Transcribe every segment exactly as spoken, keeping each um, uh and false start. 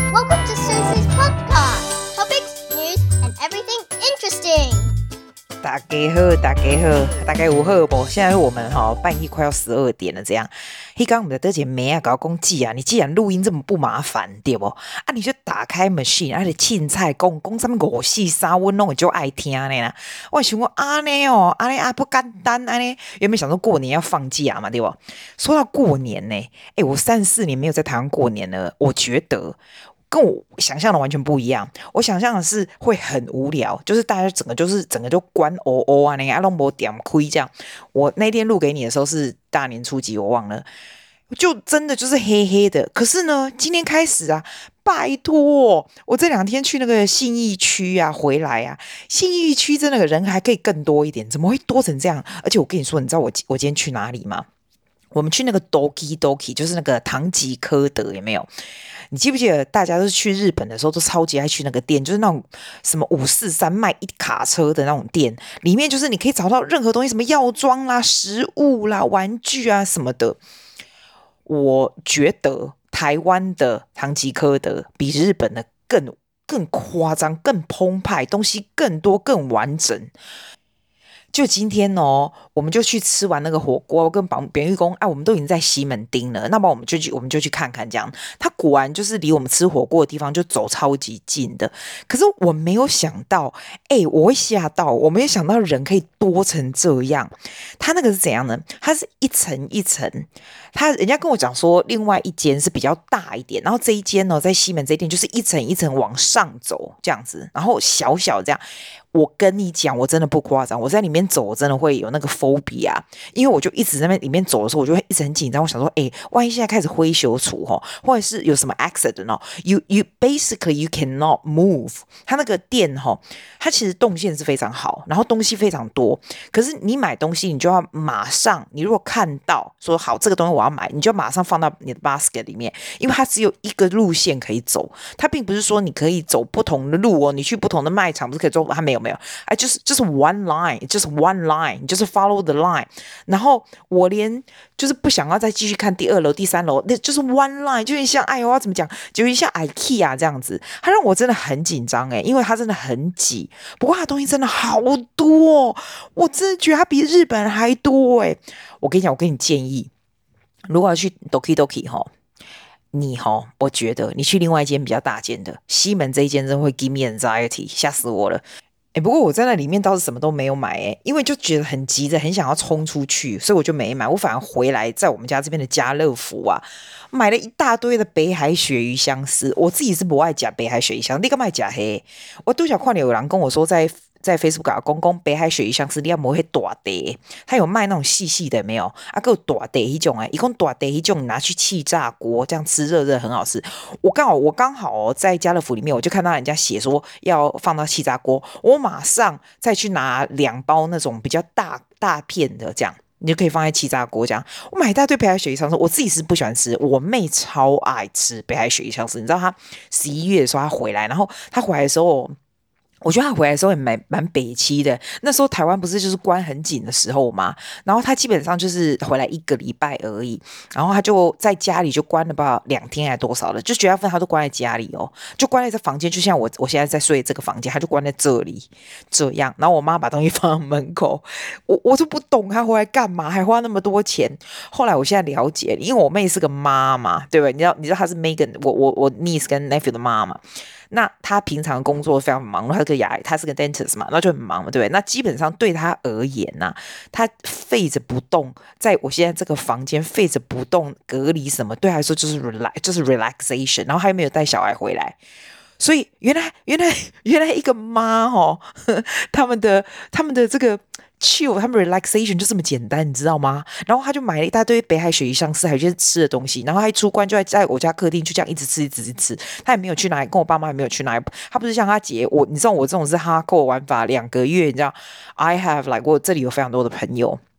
Welcome to Susie's podcast. Topics, news, and everything interesting. 大家好，大家好，大家有好不？現在我們哈、哦、半夜快要十二點了，這樣。嘿，剛我們的德姐妹啊，搞公記啊，你既然錄音這麼不麻煩，對不？啊，你就打開 machine，啊，你凊彩講講什麼五四三，我攏會就愛聽的啦。我想講啊呢哦，啊呢啊不簡單啊呢。原本想說過年要放假嘛，對不？說到過年呢，哎，我三十四年沒有在台灣過年了，我覺得。跟我想象的完全不一樣，我想象的是會很無聊，就是大家整個就是整個就關哦哦啊，那個阿龍博點虧這樣。我那天錄給你的時候是大年初幾，我忘了，就真的就是黑黑的。可是呢，今天開始啊，拜託，我這兩天去那個信義區啊，回來啊，信義區真的人還可以更多一點，怎麼會多成這樣？而且我跟你說，你知道我我今天去哪裡嗎？我們去那個 Doki Doki， 就是那個唐吉訶德，有沒有？你記不記得大家都是去日本的時候都超級愛去那個店，就是那種什麼五四三賣一卡車的那種店，裡面就是你可以找到任何東西，什麼藥妝啦、食物啦、玩具啊什麼的。我覺得台灣的唐吉訶德比日本的更更誇張、更澎湃，東西更多、更完整。就今天哦，我們就去吃完那個火鍋，我跟保扁玉公，哎、啊，我們都已經在西門町了，那麼我們就去，我們就去看看這樣。它果然就是離我們吃火鍋的地方就走超級近的。可是我沒有想到，哎，我會嚇到，我沒有想到人可以多成這樣。它那個是怎樣呢？它是一層一層，它人家跟我講說，另外一間是比較大一點，然後這一間呢，在西門這一間就是一層一層往上走這樣子，然後小小這樣。我跟你講，我真的不誇張，我在裡面走，我真的會有那個 phobia， 因為我就一直在那邊裡面走的時候，我就會一直很緊張。我想說，哎，萬一現在開始灰熊處吼，或者是有什麼 accident 哦 ，you you basically you cannot move。它那個店吼，它其實動線是非常好，然後東西非常多。可是你買東西，你就要馬上，你如果看到說好這個東西我要買，你就馬上放到你的 basket 裡面，因為它只有一個路線可以走，它並不是說你可以走不同的路哦，你去不同的賣場不是可以走，它沒有。沒有，哎，就是就是 one line， 就是 one line， 就是 follow the line。然後我連就是不想要再繼續看第二樓、第三樓，那就是 one line， 就像哎呦，我要怎麼講，就像 IKEA 這樣子，它讓我真的很緊張哎，因為它真的很擠。不過它東西真的好多，我真的覺得它比日本還多哎。我跟你講，我給你建議，如果要去 Doki Doki 哈。你齁，我覺得你去另外一間比較大間的西門這一間，真的會 give me anxiety， 嚇死我了。哎，不過我在那裡面倒是什麼都沒有買哎，因為就覺得很急着，很想要衝出去，所以我就沒買。我反而回來在我們家這邊的家樂福啊，買了一大堆的北海鱈魚香絲。我自己是不愛吃北海鱈魚香絲，你幹嘛吃黑？我都想看有人跟我說在。在 Facebook 啊，公公北海鱈魚香絲，你要摸黑大的，他有賣那種細細的沒有？啊，夠大的一種哎，一共大的一種，你拿去氣炸鍋，這樣吃熱熱很好吃。我剛好我剛好、哦、在家樂福裡面，我就看到人家寫說要放到氣炸鍋，我馬上再去拿兩包那種比較大大片的，這樣你就可以放在氣炸鍋這樣。我買一大堆北海鱈魚香絲，我自己是不喜歡吃，我妹超愛吃北海鱈魚香絲。你知道她十一月的時候她回來，然後她回來的時候。我覺得他回來的時候也蠻蠻北七的，那時候台灣不是就是關很緊的時候嘛，然後他基本上就是回來一個禮拜而已，然後他就在家裡就關了吧兩天還多少了，就絕大部分他都關在家裡哦，就關在這房間，就像我我現在在睡這個房間，他就關在這裡這樣，然後我媽把東西放在門口，我我就不懂他回來幹嘛，還花那麼多錢。後來我現在了解，因為我妹是個媽嘛，對吧？你知道你知道她是 Megan， 我我我 niece 跟 nephew 的媽媽。那他平常工作非常忙，他是個牙，他是個 dentist 嘛，那就很忙嘛，對不對？那基本上對他而言吶、啊，他廢着不動，在我現在這個房間廢着不動，隔離什麼，對他來說就是 relax，就是 relaxation。然後還沒有帶小孩回來，所以原來原來原來一個媽哦，他們的他們的這個。chill， 他們 relaxation 就這麼簡單，你知道嗎？然後他就買了一大堆北海鱈魚香絲，還有一些吃的東西。然後他一出關就在在我家客廳，就這樣一直吃，一直吃，一直吃。他也沒有去哪裡，跟我爸媽也沒有去哪裡。他不是像他姐，我你知道我這種是 hardcore 玩法，兩個月，你知道 ，I have like 我這裡有非常多的朋友。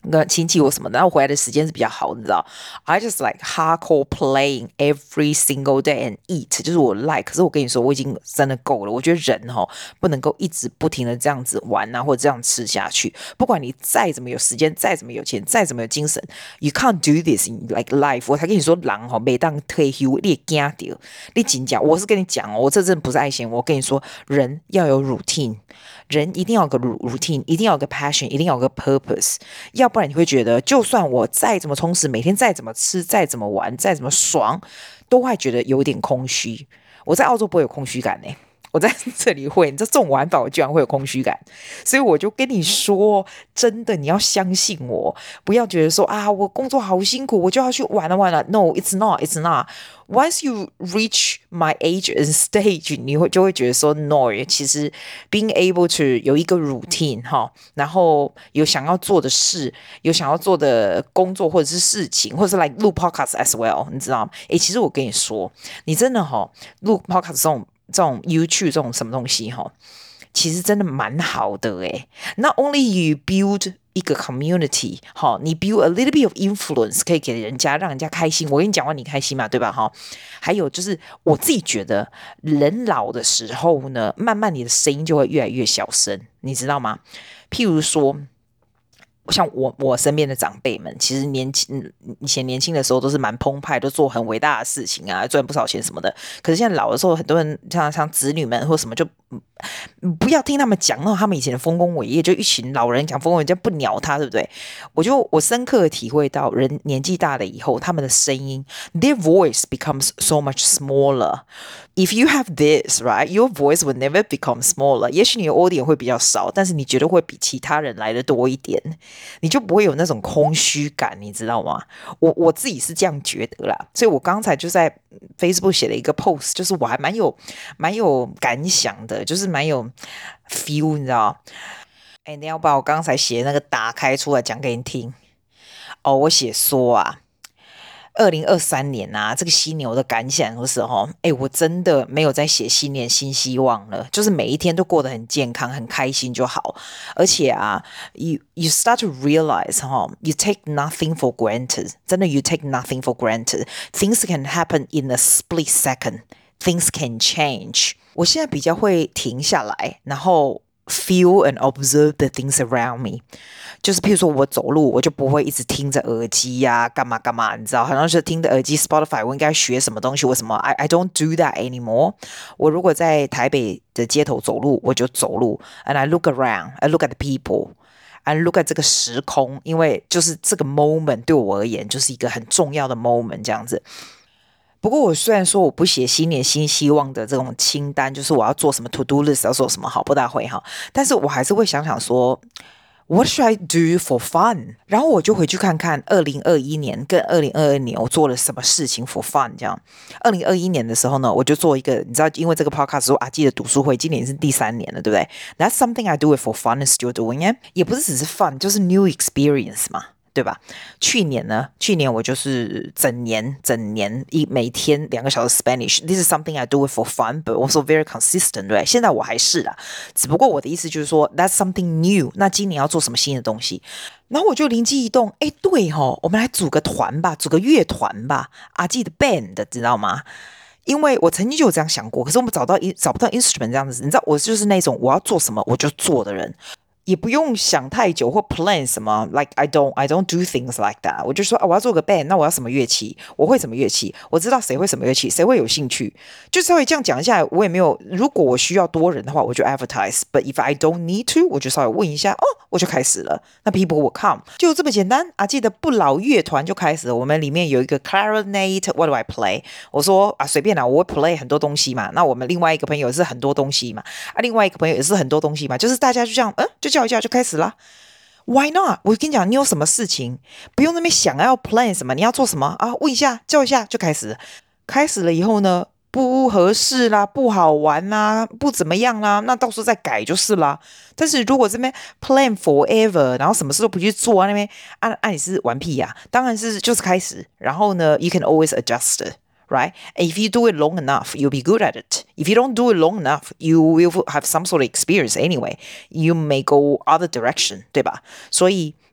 跟親戚或什麼的，然後回來的時間是比較好，你知道 I just like hardcore playing every single day and eat， 就是我 like。可是我跟你說，我已經真的夠了。我覺得人齁不能夠一直不停的這樣子玩啊，或者這樣吃下去。不管你再怎麼有時間，再怎麼有錢，再怎麼有精神 ，you can't do this in like life。我才跟你說，人齁每當退休，你也驚到，你真講，我是跟你講哦，我這真的不是愛嫌。我跟你說，人要有 routine。人一定要有個 routine， 一定要有個 passion， 一定要有個 purpose， 要不然你會覺得，就算我再怎麼充實，每天再怎麼吃，再怎麼玩，再怎麼爽，都會覺得有點空虛。我在澳洲不會有空虛感呢、欸，我在這裡會，你知道這種玩法我居然會有空虛感，所以我就跟你說，真的你要相信我，不要覺得說啊，我工作好辛苦，我就要去玩了玩了。No, it's not, it's not.Once you reach my age and stage， 你會就會覺得說 no， 其實 being able to 有一個 routine 哈，然後有想要做的事，有想要做的工作或者是事情，或者是 like 錄 podcast as well， 你知道嗎？誒，其實我跟你說，你真的哈錄 podcast 這種這種 YouTube 這種什麼東西哈，其實真的蠻好的誒。Not only you build一個 community， 好，你 build a little bit of influence， 可以給人家，讓人家開心。我跟你講話，你開心嘛，對吧？哈，還有就是我自己覺得，人老的時候呢，慢慢你的聲音就會越來越小聲，你知道嗎？譬如說，像我我身邊的長輩們，其實年輕以前年輕的時候都是蠻澎湃，都做很偉大的事情啊，賺不少錢什麼的。可是現在老的時候，很多人像像子女們或什麼就。不要聽他們講那他們以前的豐功偉業，就一群老人講豐功偉業，不鳥他，對不對？我就我深刻的體會到，人年紀大了以後，他們的聲音 ，their voice becomes so much smaller. If you have this, right, your voice will never become smaller. 也許你的 audience 會比較少，但是你覺得會比其他人來的多一點，你就不會有那種空虛感，你知道嗎？我我自己是這樣覺得啦，所以我剛才就在 Facebook 寫了一個 post， 就是我還蠻有蠻有感想的，就是蠻有 feel， 你知道？哎，你要把我剛才寫的那個打開出來講給你聽。哦，我寫說啊，二零二三年啊，這個犀牛的感想的時候，哎，我真的沒有在寫新年新希望了，就是每一天都過得很健康、很開心就好。而且啊 ，you you start to realize 哈 ，you take nothing for granted， 真的 you take nothing for granted. Things can happen in a split second. Things can change. 我現在比較會停下來，然後 feel and observe the things around me。就是譬如說我走路，我就不會一直聽着耳機呀、啊，幹嘛幹嘛，你知道？好像是聽着耳機 Spotify， 我應該學什麼東西？為什麼 I I don't do that anymore？ 我如果在台北的街頭走路，我就走路 ，and I look around, I look at the people。I look at 這個時空，因為就是這個 moment 對我而言就是一個很重要的 moment 這樣子。不過我雖然說我不寫新年新希望的這種清單，就是我要做什麼 to do list 要做什麼好，不大會哈，但是我還是會想想說 What should I do for fun？ 然後我就回去看看二零二一年跟二零二二年我做了什麼事情 for fun 這樣。二零二一年的時候呢，我就做一個，你知道，因為這個 podcast 說阿基的讀書會，今年是第三年了，對不對？ That's something I do it for fun and still doing it。也不是只是 fun， 就是 new experience 嘛。對吧？去年呢？去年我就是整年整年一每天兩個小時 Spanish。This is something I do it for fun, but also very consistent， 對。現在我還是啦，只不過我的意思就是說 ，That's something new。那今年要做什麼新的東西？然後我就靈機一動，哎，對吼，我們來組個團吧，組個樂團吧，阿基的 band， 知道嗎？因為我曾經就有這樣想過，可是我們找到找不到 instrument 這樣子，你知道，我就是那種我要做什麼我就做的人。也不用想太久或 plan 什麼 ，like I don't I don't do things like that。我就說啊，我要做個 band， 那我要什麼樂器？我會什麼樂器？我知道誰會什麼樂器，誰會有興趣？就稍微這樣講一下，我也沒有。如果我需要多人的話，我就 advertise。But if I don't need to， 我就稍微問一下，哦，我就開始了。那 people will come， 就這麼簡單啊！記得不老樂團就開始了。我們裡面有一個 clarinet，what do I play？ 我說啊，隨便啦，我會 play 很多東西嘛。那我們另外一個朋友也是很多東西嘛，啊，另外一個朋友也是很多東西嘛，就是大家就這樣，嗯，就。叫一叫就開始啦 Why not？ 我跟你講，你有什麼事情不用那邊想要 plan 什麼，你要做什麼啊？問一下，叫一下就開始。開始了以後呢，不合適啦，不好玩啦，不怎麼樣啦，那到時候再改就是啦。但是如果這邊 plan forever， 然後什麼事都不去做啊，那邊按按你是玩屁呀、啊？當然是就是開始，然後呢 ，you can always adjust it。Right? And if you do it long enough, you'll be good at it. If you don't do it long enough, you will have some sort of experience anyway. You may go other direction, 對吧？所以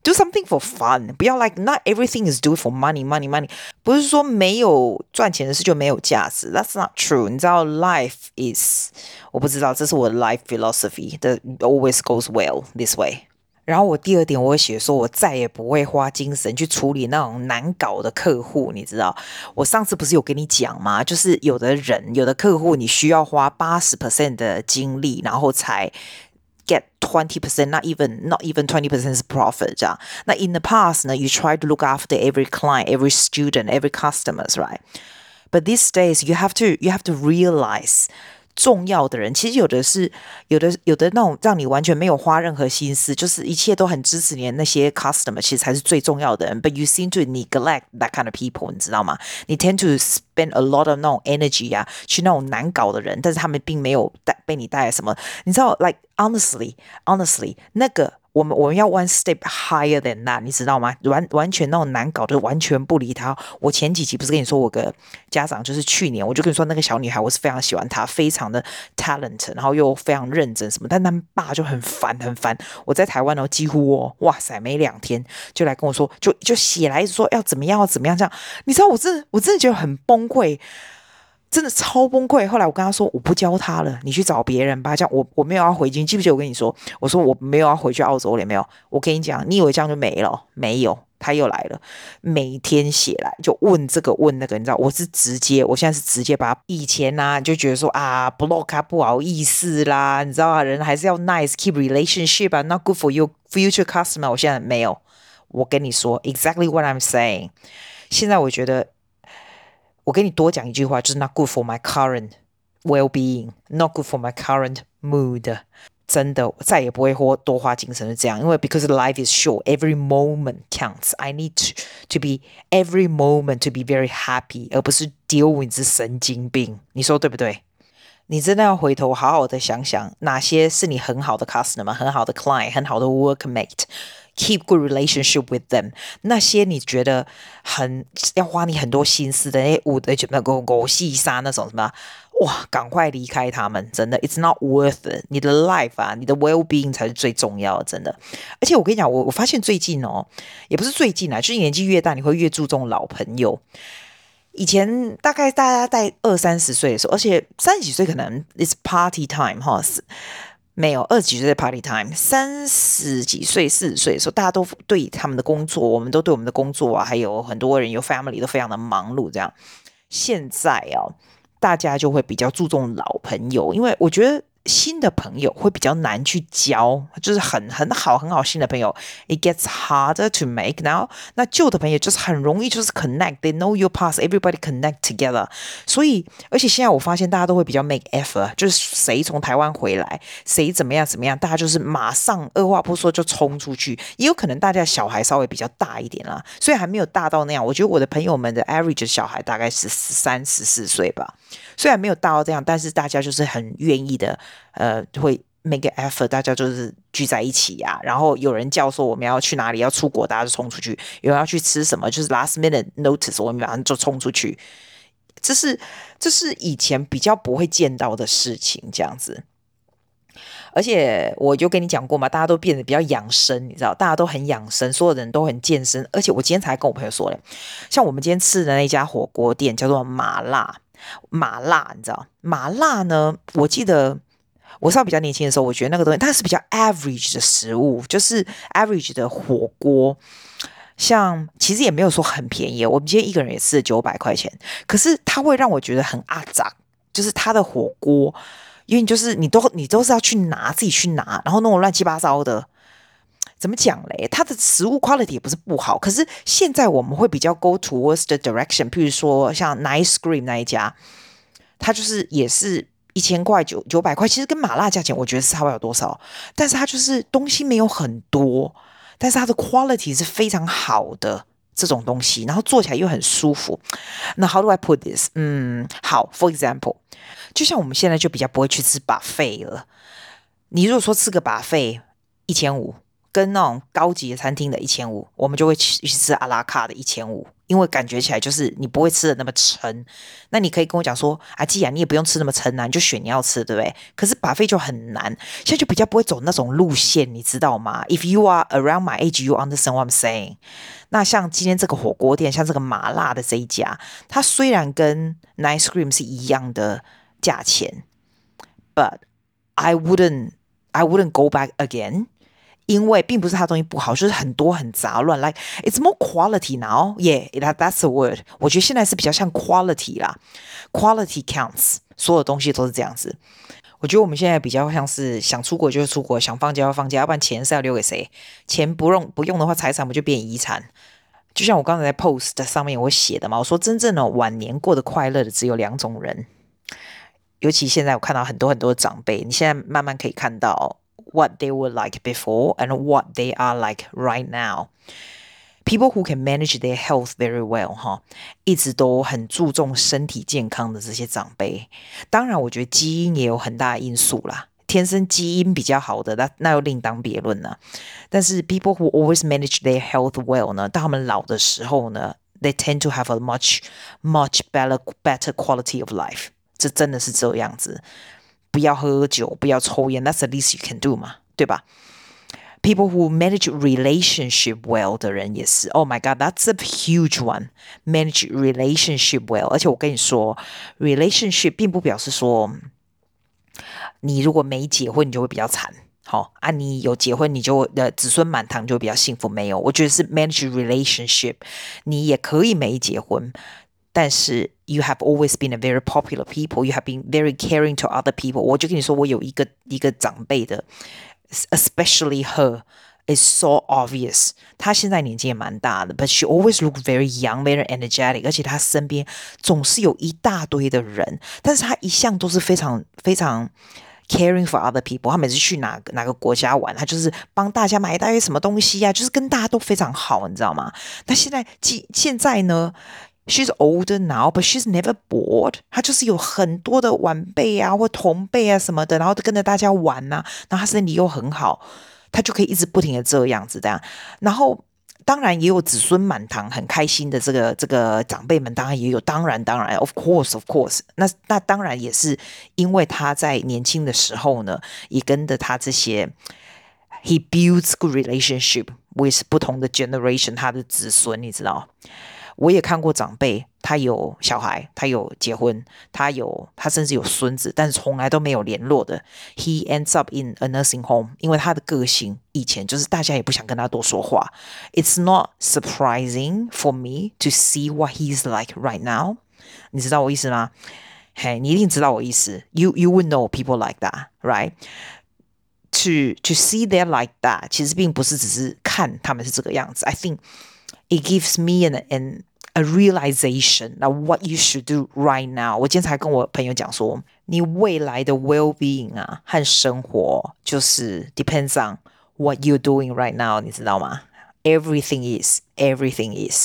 Do something for fun， 不要 like not everything is do for money money money， 不是說沒有賺錢的事就沒有價值 ，That's not true。你知道 life is， 我不知道，這是我的 life philosophy， that always goes well this way。然後我第二點我會寫說，我再也不會花精神去處理那種難搞的客戶，你知道，我上次不是有跟你講嗎？就是有的人有的客戶你需要花 百分之八十 的精力，然後才get twenty percent, not even not even twenty percent 是 profit 這樣。那 in the past 呢 you try to look after every client, every student, every customers, right? But these days you have to you have to realize 重要的人其實有的是有的有的那種讓你完全沒有花任何心思，就是一切都很支持你的那些 customer 其實才是最重要的人。But you seem to neglect that kind of people， 你知道嗎？你 tend to spend a lot of 那種 energy 啊，去那種難搞的人，但是他們並沒有帶被你帶來什麼。你知道 ，like honestly, honestly， 那個。我們我們要 one step higher than that， 你知道嗎？完完全那種難搞的，完全不理他。我前幾集不是跟你說，我個家長就是去年，我就跟你說那個小女孩，我是非常喜歡她，非常的 talent， 然後又非常認真什麼，但他們爸就很煩很煩。我在台灣哦，幾乎哦，哇塞，沒兩天就來跟我說，就就寫來說要怎麼樣要怎麼樣這樣。你知道我真的我真的覺得很崩潰。真的超崩潰。後來我跟他說，我不教他了，你去找別人吧。這樣我我沒有要回去，記不記得我跟你說，我說我沒有要回去澳洲了，沒有。我跟你講，你以為這樣就沒了？沒有，他又來了，每天寫來就問這個問那個，你知道，我是直接，我現在是直接把他以前啊就覺得說啊 block 啊不好意思啦，你知道啊，人還是要 nice keep relationship 啊 ，not good for your future customer。我現在沒有，我跟你說 exactly what I'm saying。現在我覺得。我跟你多講一句話，就是 not good for my current well-being, not good for my current mood。真的，我再也不會花多花精神是這樣，因為 because life is short, every moment counts. I need to to be every moment to be very happy， 而不是 deal with 這神經病。你說對不對？你真的要回頭好好的想想，哪些是你很好的 customer、很好的 client、很好的 workmate。Keep good relationship with them。那些你覺得很要花你很多心思的那些五的那個狗戲殺那種什麼，哇，趕快離開他們，真的 ，it's not worth it。你的 life 啊，你的 well-being 才是最重要的，真的。而且我跟你講，我我發現最近哦，也不是最近啊，就是年紀越大，你會越注重老朋友。以前大概大家在二三十歲的時候，而且三十幾歲可能 it's party time 哈。沒有，二十幾歲的 party time， 三十幾歲、四十歲的時候，大家都對他們的工作，我們都對我們的工作啊，還有很多人有 family 都非常的忙碌。這樣，現在啊，大家就會比較注重老朋友，因為我覺得新的朋友會比較難去交，就是很很好很好新的朋友 ，it gets harder to make now。那舊的朋友就是很容易就是 connect，they know your past，everybody connect together。所以，而且現在我發現大家都會比較 make effort，就是誰從台灣回來，誰怎麼樣怎麼樣，大家就是馬上二話不說就衝出去。也有可能大家小孩稍微比較大一點啦，所以還沒有大到那樣。我覺得我的朋友們的 average 小孩大概是十三、十四歲吧。雖然沒有大到這樣，但是大家就是很願意的，呃，會 make an effort， 大家就是聚在一起呀、啊。然後有人叫說我們要去哪裡，要出國，大家就衝出去；有人要去吃什麼，就是 last minute notice， 我們馬上就衝出去。這是這是以前比較不會見到的事情，這樣子。而且我就跟你講過嘛，大家都變得比較養生，你知道，大家都很養生，所有人都很健身。而且我今天才跟我朋友說嘞，像我們今天吃的那家火鍋店叫做麻辣。麻辣，你知道麻辣呢？我記得我稍微比較年輕的時候，我覺得那個東西它是比較 average 的食物，就是 average 的火鍋。像其實也沒有說很便宜，我們今天一個人也吃了九百塊錢，可是它會讓我覺得很阿雜，就是它的火鍋，因為就是你都你都是要去拿自己去拿，然後弄得亂七八糟的。怎麼講嘞？它的食物 quality 也不是不好，可是現在我們會比較 go towards the direction， 譬如說像 Nice Cream 那一家，它就是也是一千塊九九百塊，其實跟麻辣價錢我覺得差不了多少，但是它就是東西沒有很多，但是它的 quality 是非常好的這種東西，然後做起來又很舒服。那 how do I put this？ 嗯，好 ，for example， 就像我們現在就比較不會去吃 buffet 了。你如果說吃個 buffet 一千五。跟那種高級的餐廳的一千五，我們就會去吃阿拉卡的一千五， 因為感覺起來就是你不會吃的那麼撐。那你可以跟我講說啊，既然你也不用吃那麼撐啊，你就選你要吃的，對不對？可是 buffet 就很難，現在就比較不會走那種路線，你知道嗎？ If you are around my age, you understand what I'm saying。那像今天這個火鍋店，像這個麻辣的這一家，它雖然跟 Nice Cream 是一樣的價錢 ，but I wouldn't, I wouldn't go back again。因為並不是它東西不好，就是很多很雜亂 ，like it's more quality now. Yeah, that that's the word. 我覺得現在是比較像 quality 啦 ，quality counts。所有東西都是這樣子。我覺得我們現在比較像是想出國就出國，想放假要放假，要不然錢是要留給誰？錢不用不用的話，財產不就變遺產？就像我剛才在 post 上面我寫的嘛，我說真正的晚年過得快樂的只有兩種人，尤其現在我看到很多很多的長輩，你現在慢慢可以看到 what they were like before and what they are like right now. People who can manage their health very well 哈，一直都很注重身體健康的這些長輩，當然我覺得基因也有很大的因素啦，天生基因比較好的那那又另當別論了。但是 people who always manage their health well 呢，當他們老的時候呢 ，they tend to have a much much better better quality of life。這真的是這樣子，不要喝酒，不要抽菸 ，that's the least you can do 嘛，對吧？People who manage relationship well 的人也是 ，Oh my God, that's a huge one. Manage relationship well， 而且我跟你說 ，relationship 並不表示說，你如果沒結婚，你就會比較慘。好啊，你有結婚，你就呃子孫滿堂，就會比較幸福。沒有，我覺得是 manage relationship， 你也可以沒結婚，但是 you have always been a very popular people. You have been very caring to other people. 我就跟你說，我有一個一個長輩的。Especially her is so obvious. 她現在年紀也蠻大的 ，but she always look very young, very energetic. 而且她身邊總是有一大堆的人，但是她一向都是非常非常 caring for other people. 她每次去哪個哪個國家玩，她就是幫大家買一大堆什麼東西啊，就是跟大家都非常好，你知道嗎？那現在現在呢？She's older now, but she's never bored. 她就是有很多的晚輩啊，或同輩啊什麼的，然後都跟着大家玩啊，然後她身體又很好，她就可以一直不停的這樣子這樣。然後當然也有子孫滿堂，很開心的這個這個長輩們，當然也有，當然當然 ，of course of course 那。那那當然也是因為他在年輕的時候呢，也跟着他這些 ，he builds good relationship with 不同的 generation， 他的子孫，你知道。我也看過長輩，他有小孩，他有結婚，他有他甚至有孫子，但是從來都沒有聯絡的。He ends up in a nursing home， 因為他的個性以前就是大家也不想跟他多說話。It's not surprising for me to see what he's like right now。你知道我意思嗎？嘿，你一定知道我意思。You you would know people like that, right? To to see them like that， 其實並不是只是看他們是這個樣子。I think it gives me an an a realization of what you should do right now. 我今天才跟我朋友講說，你未來的 well-being 啊和生活就是 depends on what you're doing right now. 你知道嗎？ Everything is, everything is.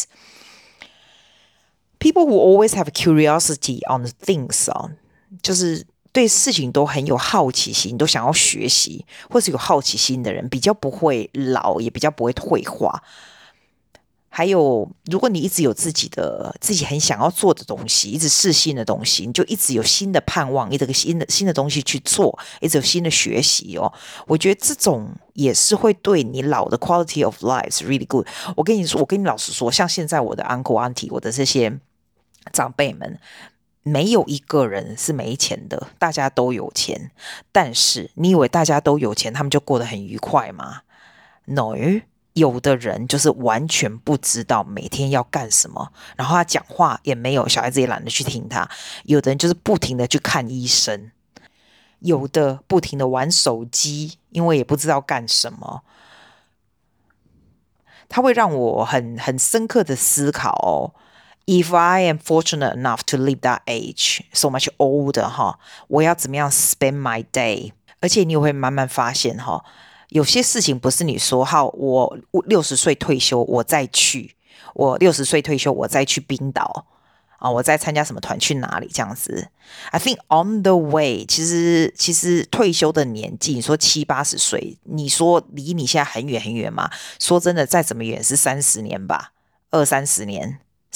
People who always have curiosity on things 啊，就是對事情都很有好奇心，都想要學習，或是有好奇心的人，比較不會老，也比較不會退化。還有，如果你一直有自己的自己很想要做的東西，一直試新的東西，你就一直有新的盼望，一直有新的新的東西去做，一直有新的學習哦。我覺得這種也是會對你老的 quality of life is really good。我跟你說，我跟你老實說，像現在我的 uncle auntie， 我的這些長輩們，沒有一個人是沒錢的，大家都有錢。但是你以為大家都有錢，他們就過得很愉快嗎？ No。有的人就是完全不知道每天要幹什麼，然後他講話也沒有，小孩子也懶得去聽他。有的人就是不停的去看醫生，有的不停的玩手機，因為也不知道幹什麼。他會讓我很很深刻的思考哦。If I am fortunate enough to live that age, so much older 哈，我要怎麼樣 spend my day？ 而且你也會慢慢發現哈。有些事情不是你說好，我六十歲退休，我再去；我六十歲退休，我再去冰島啊，我再參加什麼團去哪裡這樣子。I think on the way， 其實其實退休的年紀，你說七八十歲，你說離你現在很遠很遠嗎？說真的，再怎麼遠是三十年吧，二三十年。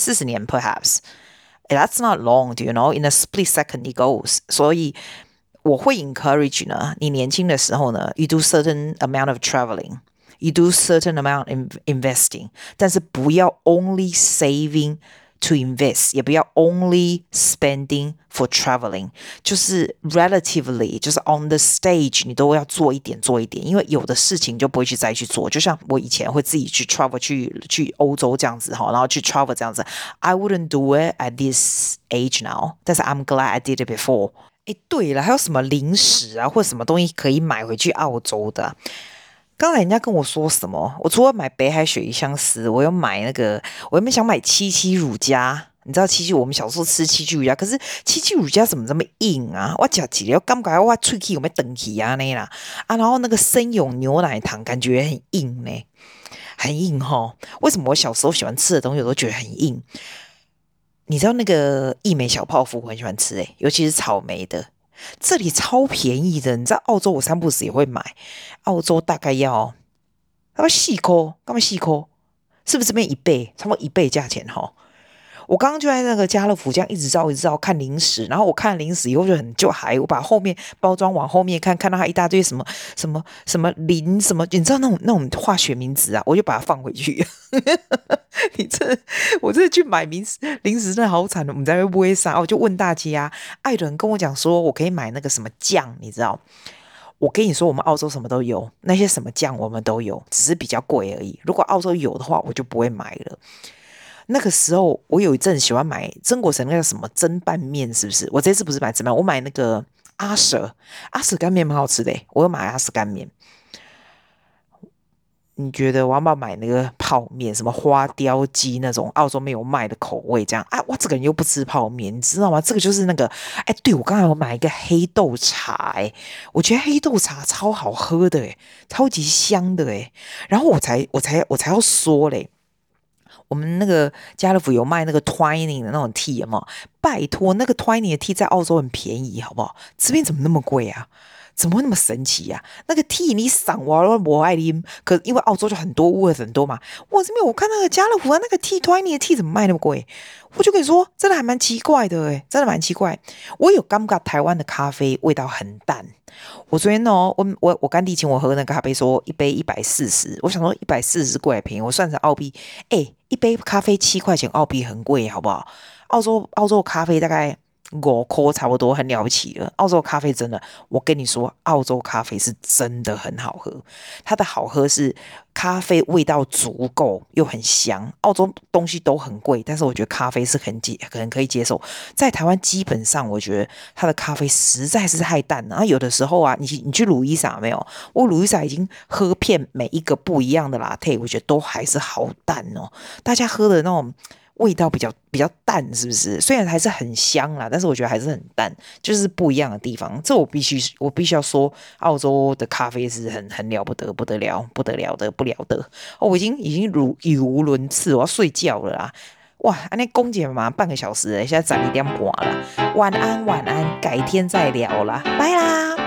四十年 perhaps。That's not long, do you know? In a split second it goes. 所以我會 encourage 呢，你年輕的時候呢 ，you do certain amount of traveling, you do certain amount in investing， 但是不要 only saving to invest， 也不要 only spending for traveling， 就是 relatively， 就是 on the stage， 你都要做一點做一點，因為有的事情就不會去再去做。就像我以前會自己去 travel 去去歐洲這樣子哈，然後去 travel 這樣子 ，I wouldn't do it at this age now， 但是 I'm glad I did it before。哎，對了，還有什麼零食啊，或者什麼東西可以買回去澳洲的啊？剛才人家跟我說什麼？我除了買北海鱈魚香絲，我有買那個，我原本想買七七乳加。你知道七七，我們小時候吃七七乳加，可是七七乳加怎麼這麼硬啊？我吃起來，我感覺我喙齒有沒有斷去啊那啦啊，然後那個生永牛奶糖感覺很硬呢，很硬齁。為什麼我小時候喜歡吃的東西我都覺得很硬？你知道那個義美小泡芙我很喜歡吃誒，尤其是草莓的。這裡超便宜的，你知道澳洲我三不時也會買，澳洲大概要他媽四塊，幹嘛四塊？是不是這邊一倍？差不多一倍價錢齁。我剛剛就在那個家樂福這樣一直照一直照看零食，然後我看零食以後就很就還我把後面包裝往後面看，看到它一大堆什麼什麼什麼磷什麼，你知道那種那種化學名詞啊，我就把它放回去。你這我這去買零食零食真的好慘的，我們在那邊不會殺，我就問大家，艾倫跟我講說我可以買那個什麼醬，你知道？我跟你說，我們澳洲什麼都有，那些什麼醬我們都有，只是比較貴而已。如果澳洲有的話，我就不會買了。那個時候，我有一陣喜歡買曾國城那個什麼蒸拌麵，是不是？我這次不是買蒸拌，我買那個阿舍阿舍乾麵蠻好吃的，我有買阿舍乾麵。你覺得我要不要買那個泡麵？什麼花雕雞那種澳洲沒有賣的口味？這樣啊，我這個人又不吃泡麵，你知道嗎？這個就是那個，哎，對，我剛才有買一個黑豆茶，哎，我覺得黑豆茶超好喝的，哎，超級香的，哎，然後我才我才我才要說嘞。我們那個家樂福有賣那個 Twining 的那種 tea 嘛？拜託，那個 Twining 的 tea 在澳洲很便宜，好不好？這邊怎麼那麼貴啊？怎麼會那麼神奇呀、啊？那個 tea 你賞我我愛啉，可因為澳洲就很多 Woolworths 很多嘛。我這邊我看那個家樂福啊，那個 tea Twining 的 tea 怎麼賣那麼貴？我就跟你說，真的還蠻奇怪的誒，真的蠻奇怪。我有感覺台灣的咖啡味道很淡。我昨天哦，我我我乾弟請我喝那個咖啡，說一杯一百四十，我想說一百四十貴還便宜，我算成澳幣，誒，一杯咖啡七塊錢澳幣很貴，好不好？澳洲澳洲咖啡大概五塊差不多，很了不起了。澳洲咖啡真的，我跟你說，澳洲咖啡是真的很好喝。它的好喝是咖啡味道足夠又很香。澳洲東西都很貴，但是我覺得咖啡是很接很可以接受。在台灣基本上，我覺得它的咖啡實在是太淡了。然後有的時候啊，你你去路易莎沒有？我路易莎已經喝遍每一個不一樣的 latte， 我覺得都還是好淡哦。大家喝的那種味道比較比較淡，是不是？雖然還是很香啦，但是我覺得還是很淡，就是不一樣的地方。這我必須我必須要說，澳洲的咖啡是很很了不得，不得了，不得了的，不了得。哦，我已經已經語語無倫次，我要睡覺了啦。哇，安尼講解嘛半個小時了，現在十二點半了。晚安，晚安，改天再聊啦，拜啦。